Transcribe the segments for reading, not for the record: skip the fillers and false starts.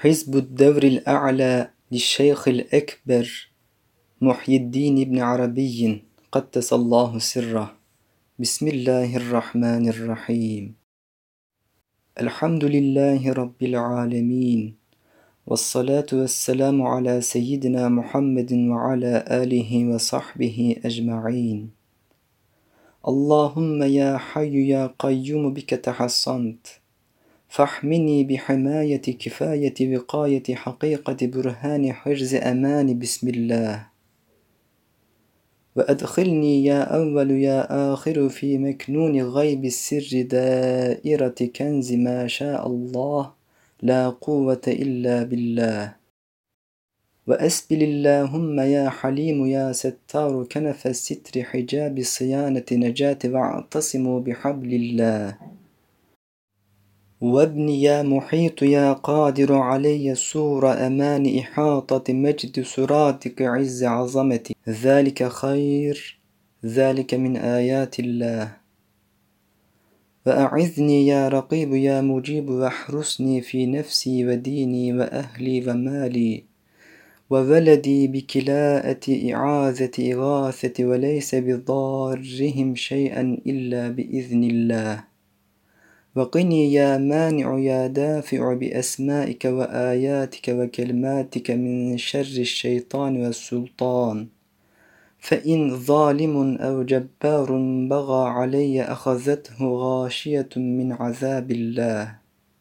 حزب الدور الأعلى للشيخ الأكبر محي الدين بن عربي قدس الله سره. بسم الله الرحمن الرحيم. الحمد لله رب العالمين، والصلاة والسلام على سيدنا محمد وعلى آله وصحبه أجمعين. اللهم يا حي يا قيوم بك تحصنت، فاحمني بحماية كفاية وقاية حقيقة برهان حرز أمان. بسم الله. وأدخلني يا أول يا آخر في مكنون غيب السر دائرة كنز ما شاء الله لا قوة إلا بالله. وأسبل اللهم يا حليم يا ستار كنف الستر حجاب الصيانة نجاة، واعتصموا بحبل الله. وابن يا محيط يا قادر علي سور أمان إحاطة مجد سراتك عز عظمتي، ذلك خير، ذلك من آيات الله. وأعذني يا رقيب يا مجيب واحرسني في نفسي وديني وأهلي ومالي وولدي بكلاءة إعاذة إغاثة، وليس بضارهم شيئا إلا بإذن الله. وقني يا مانع يا دافع بأسمائك وآياتك وكلماتك من شر الشيطان والسلطان، فإن ظالم أو جبار بغى علي أخذته غاشية من عذاب الله.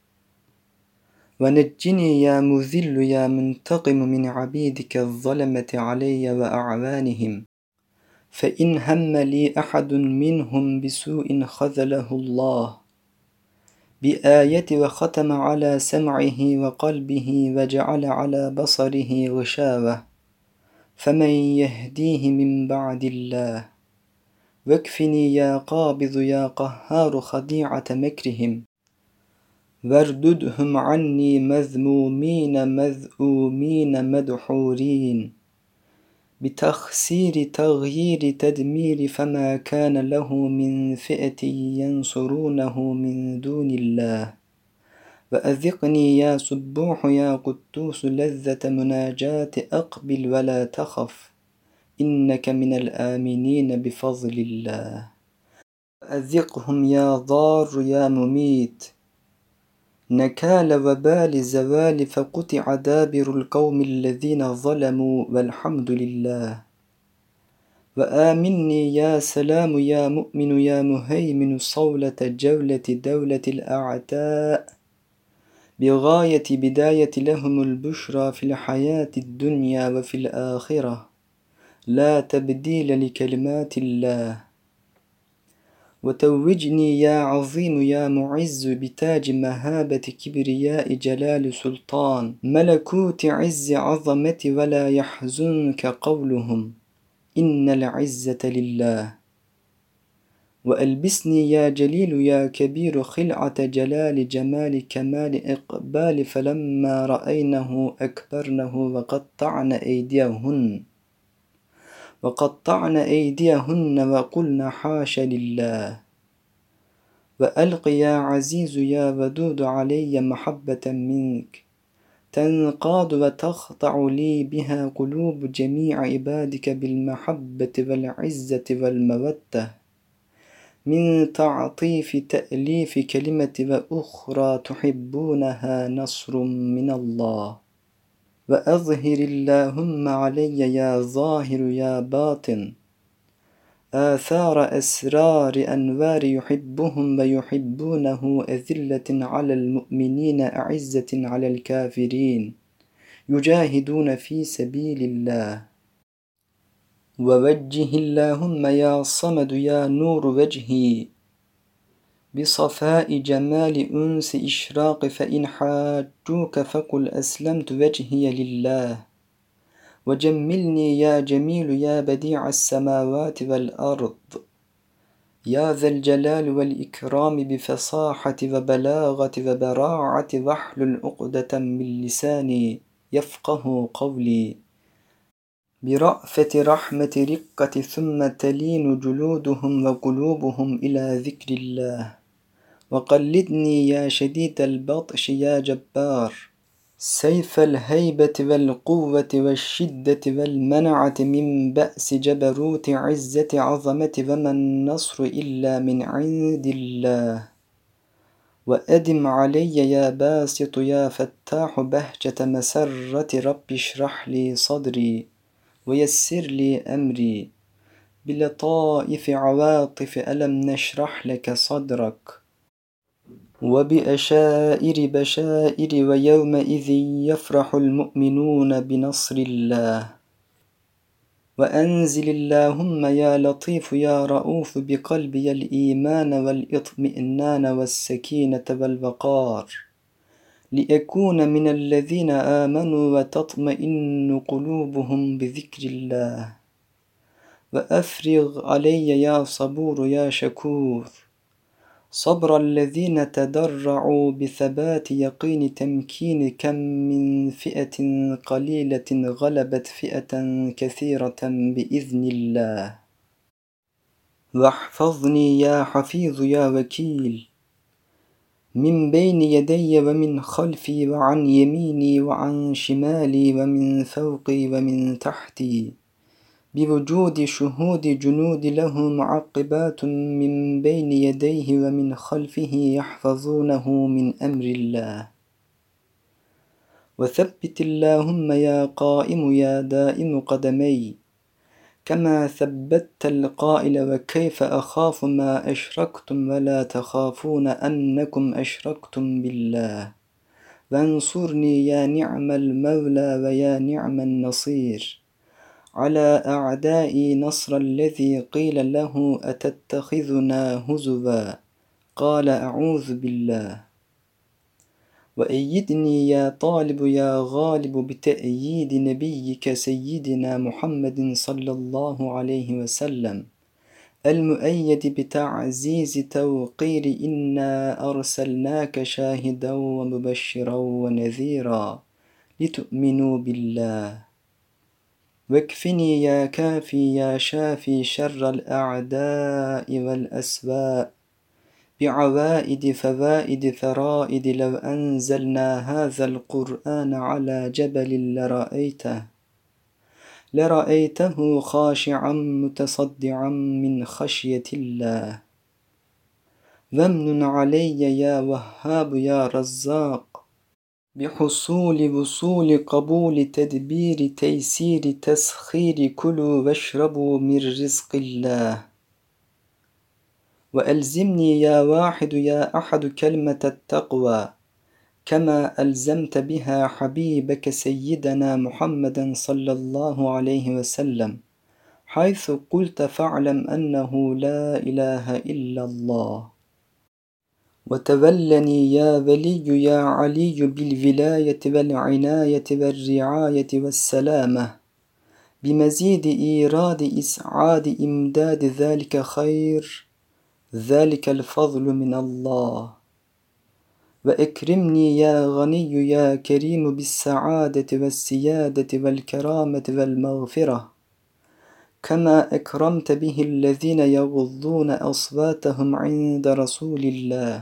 ونجني يا مذل يا منتقم من عبيدك الظلمة علي وأعوانهم، فإن هم لي أحد منهم بسوء خذله الله بآية وختم على سمعه وقلبه وجعل على بصره غشاوة، فمن يهديه من بعد الله. واكفني يا قابض يا قهار خديعة مكرهم، وارددهم عني مذمومين مذءومين مدحورين، بتخسير تغيير تدمير، فما كان له من فئة ينصرونه من دون الله. وأذقني يا سبوح يا قدوس لذة مناجاة أقبل ولا تخف، إنك من الآمنين بفضل الله. وأذقهم يا ضار يا مميت نكال وبال زوال، فقطع دابر القوم الذين ظلموا والحمد لله. وآمني يا سلام يا مؤمن يا مهيمن صولة جولة دولة الأعداء، بغاية بداية لهم البشرى في الحياة الدنيا وفي الآخرة، لا تبديل لكلمات الله. وتوجني يا عظيم يا معز بتاج مهابة كبرياء جلال سلطان ملكوت عز عظمة، ولا يحزنك قولهم إن العزة لله. وألبسني يا جليل يا كبير خلعة جلال جمال كمال إقبال، فلما رأينه أكبرنه وقطعن أيديهن وقلن حاش لله. وألق يا عزيز يا ودود علي محبة منك تنقاد وتخضع لي بها قلوب جميع عبادك بالمحبة والعزة والمودة، من تعطيف تأليف كلمة وأخرى تحبونها نصر من الله. وأظهر اللهم علي يا ظاهر يا باطن آثار أسرار أنوار يحبهم ويحبونه، أذلة على المؤمنين أعزة على الكافرين يجاهدون في سبيل الله. ووجه اللهم يا صمد يا نور وجهي بصفاء جمال أنس إشراق، فإن حاجوك فقل أسلمت وجهي لله. وجملني يا جميل يا بديع السماوات والأرض يا ذا الجلال والإكرام بفصاحة وبلاغة وبراعة، واحلل عقدة من لساني يفقه قولي، برأفة رحمة رقة ثم تلين جلودهم وقلوبهم إلى ذكر الله. وقلدني يا شديد البطش يا جبار سيف الهيبة والقوة والشدة والمنعة من بأس جبروت عزة عظمة وما النصر إلا من عند الله وأدم علي يا باسط يا فتاح بهجة مسرة رب اشرح لي صدري ويسر لي أمري بلطائف عواطف ألم نشرح لك صدرك وبأشائر بشائر ويومئذ يفرح المؤمنون بنصر الله وأنزل اللهم يا لطيف يا رؤوف بقلبي الإيمان والإطمئنان والسكينة والوقار لأكون من الذين آمنوا وتطمئن قلوبهم بذكر الله وأفرغ علي يا صبور يا شكور صبر الذين تضرعوا بثبات يقين تمكين كم من فئة قليلة غلبت فئة كثيرة بإذن الله واحفظني يا حفيظ يا وكيل من بين يدي ومن خلفي وعن يميني وعن شمالي ومن فوقي ومن تحتي بوجود شهود جنود له معقبات من بين يديه ومن خلفه يحفظونه من أمر الله وثبت اللهم يا قائم يا دائم قدمي كما ثبت القائل وكيف أخاف ما أشركتم ولا تخافون أنكم أشركتم بالله وانصرني يا نعم المولى ويا نعم النصير على أعدائي نصر الذي قيل له أتتخذنا هزوا قال أعوذ بالله وأيدني يا طالب يا غالب بتأييد نبيك سيدنا محمد صلى الله عليه وسلم المؤيد بتعزيز توقير إنا أرسلناك شاهدا ومبشرا ونذيرا لتؤمنوا بالله واكفني يا كافي يا شافي شر الأعداء والأسواء بعوائد فوائد فرائد لو أنزلنا هذا القرآن على جبل لرأيته خاشعا متصدعا من خشية الله وامنن علي يا وهاب يا رزاق بحصول وصول قبول تدبير تيسير تسخير كلوا واشربوا من رزق الله وألزمني يا واحد يا أحد كلمة التقوى كما ألزمت بها حبيبك سيدنا محمدا صلى الله عليه وسلم حيث قلت فاعلم أنه لا إله إلا الله وتولني يا ولي يا علي بالولاية والعناية والرعاية والسلامة بمزيد إيراد إسعاد إمداد ذلك خير ذلك الفضل من الله وأكرمني يا غني يا كريم بالسعادة والسيادة والكرامة والمغفرة كما أكرمت به الذين يغضون أصواتهم عند رسول الله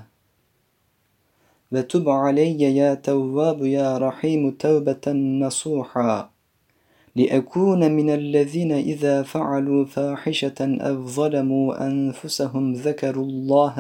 وتب علي يا تواب يا رحيم توبة نصوحا لأكون من الذين إذا فعلوا فاحشة أو ظلموا أنفسهم ذكروا الله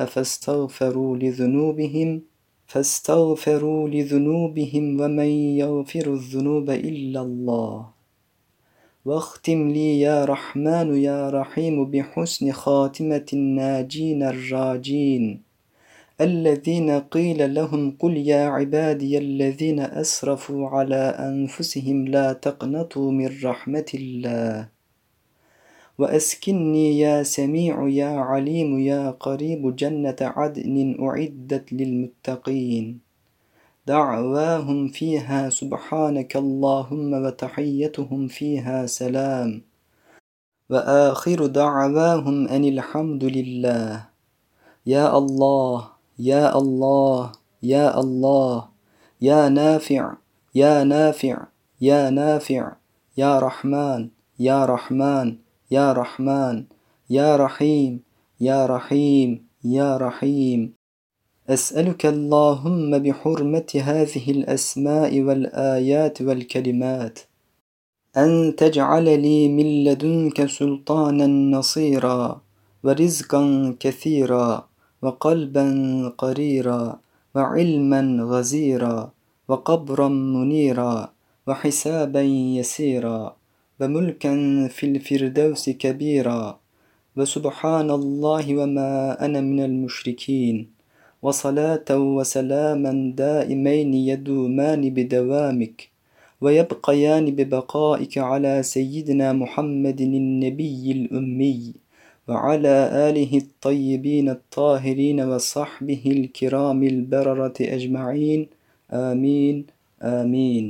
فاستغفروا لذنوبهم ومن يغفر الذنوب إلا الله واختم لي يا رحمن يا رحيم بحسن خاتمة الناجين الراجين الذين قيل لهم قل يا عبادي الذين أسرفوا على أنفسهم لا تقنطوا من رحمة الله وأسكنني يا سميع يا عليم يا قريب جنة عدن أعدت للمتقين دعواهم فيها سبحانك اللهم وتحيتهم فيها سلام وآخر دعواهم أن الحمد لله يا الله يا الله يا الله يا نافع يا نافع يا نافع يا رحمن يا رحمن يا رحمن يا رحيم يا رحيم يا رحيم أسألك اللهم بحرمة هذه الأسماء والآيات والكلمات أن تجعل لي من لدنك سلطانا نصيرا ورزقا كثيرا وقلبا قريرا وعلما غزيرا وقبرا منيرا وحسابا يسيرا وملكا في الفردوس كبيرا وسبحان الله وما أنا من المشركين وصلاة وسلاما دائمين يدومان بدوامك ويبقيان ببقائك على سيدنا محمد النبي الأمي وعلى آله الطيبين الطاهرين وصحبه الكرام البررة أجمعين آمين آمين.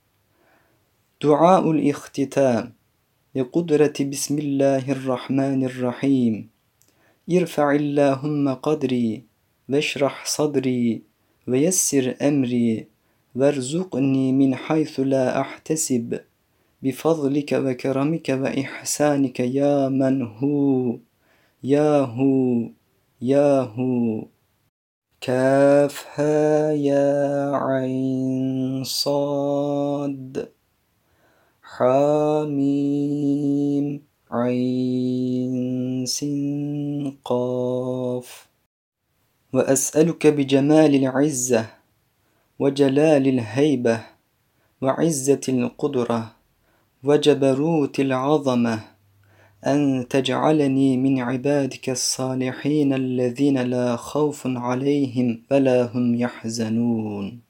دعاء الاختتام بقدرة بسم الله الرحمن الرحيم. ارفع اللهم قدري واشرح صدري ويسر أمري وارزقني من حيث لا أحتسب بفضلك وكرمك وإحسانك يا من هو يا هو يا هو. كاف ها يا عين صاد حاميم عين سين قاف. وأسألك بجمال العزة وجلال الهيبة وعزة القدرة وجبروت العظمة أن تجعلني من عبادك الصالحين الذين لا خوف عليهم ولا هم يحزنون.